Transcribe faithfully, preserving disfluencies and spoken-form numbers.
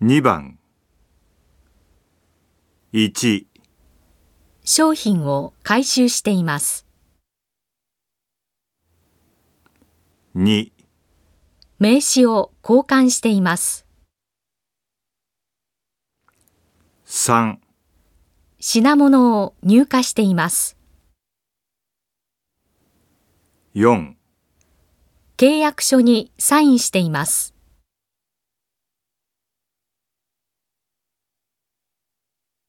にばんいち商品を回収しています。 に名刺を交換しています。 さん品物を入荷しています。 よん契約書にサインしています。